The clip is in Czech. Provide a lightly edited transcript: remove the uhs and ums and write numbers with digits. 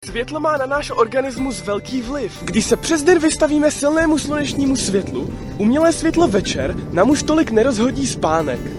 Světlo má na náš organismus velký vliv. Když se přes den vystavíme silnému slunečnímu světlu, umělé světlo večer nám už tolik nerozhodí spánek.